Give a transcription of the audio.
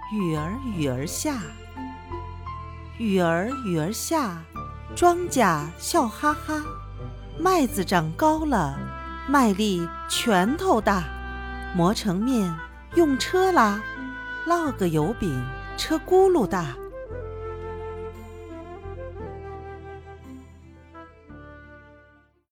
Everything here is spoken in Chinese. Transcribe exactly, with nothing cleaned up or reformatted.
雨儿雨儿下，雨儿雨儿下，庄稼笑哈哈。麦子长高了，麦粒拳头大，磨成面用车拉，烙个油饼车轱辘大。